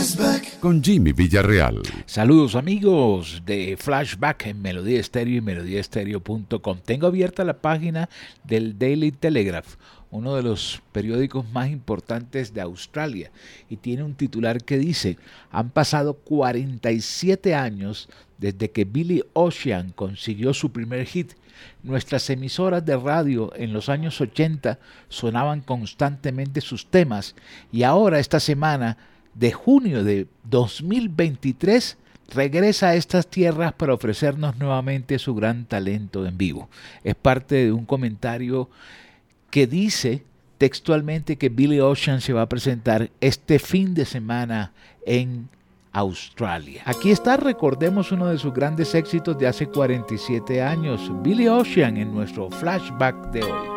con Jimmy Villarreal. Saludos amigos de Flashback en Melodía Estéreo y melodíaestéreo.com. Tengo abierta la página del Daily Telegraph, uno de los periódicos más importantes de Australia, y tiene un titular que dice: han pasado 47 años desde que Billy Ocean consiguió su primer hit. Nuestras emisoras de radio en los años 80 sonaban constantemente sus temas, y ahora esta semana de junio de 2023 regresa a estas tierras para ofrecernos nuevamente su gran talento en vivo. Es parte de un comentario que dice textualmente que Billy Ocean se va a presentar este fin de semana en Australia. Aquí está, recordemos uno de sus grandes éxitos de hace 47 años, Billy Ocean, en nuestro flashback de hoy.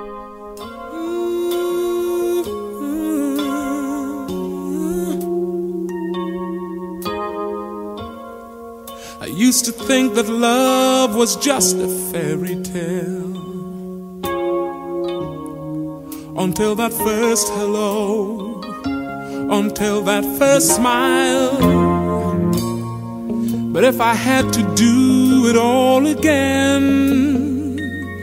I used to think that love was just a fairy tale, until that first hello, until that first smile. But if I had to do it all again,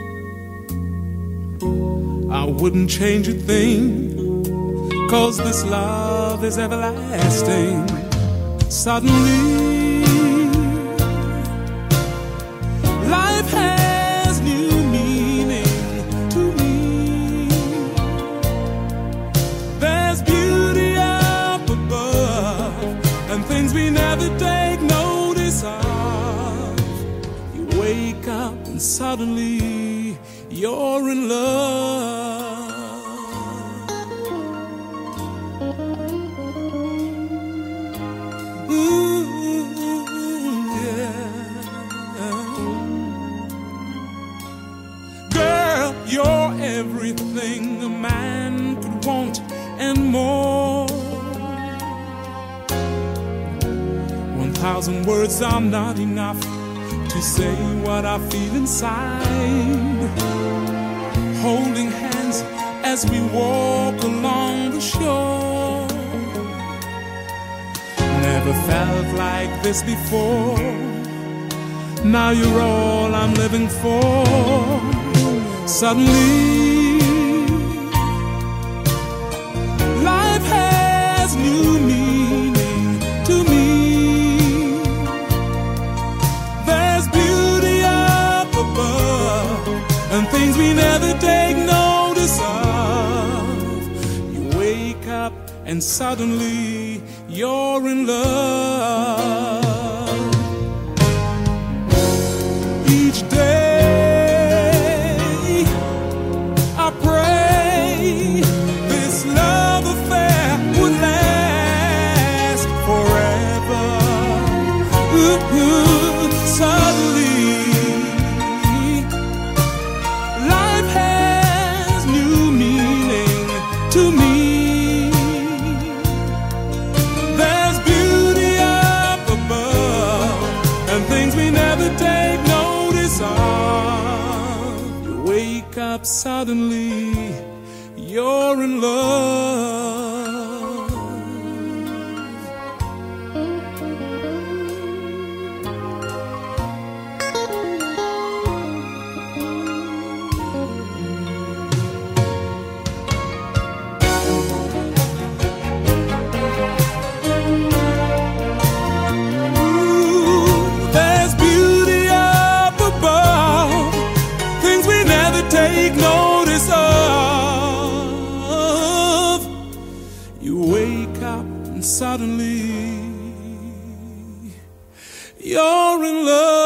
I wouldn't change a thing, 'cause this love is everlasting. Suddenly life has new meaning to me. There's beauty up above and things we never take notice of. You wake up and suddenly you're in love. You're everything a man could want and more. 1,000 words are not enough to say what I feel inside. Holding hands as we walk along the shore. Never felt like this before. Now you're all I'm living for. Suddenly, life has new meaning to me. There's beauty up above and things we never take notice of. You wake up and suddenly you're in love. Each day this love affair would last forever. Suddenly, life has new meaning to me. There's beauty up above and things we never take notice of. You wake up suddenly, you're in love. Ooh, there's beauty up above, things we never take notice of. You wake up and suddenly you're in love.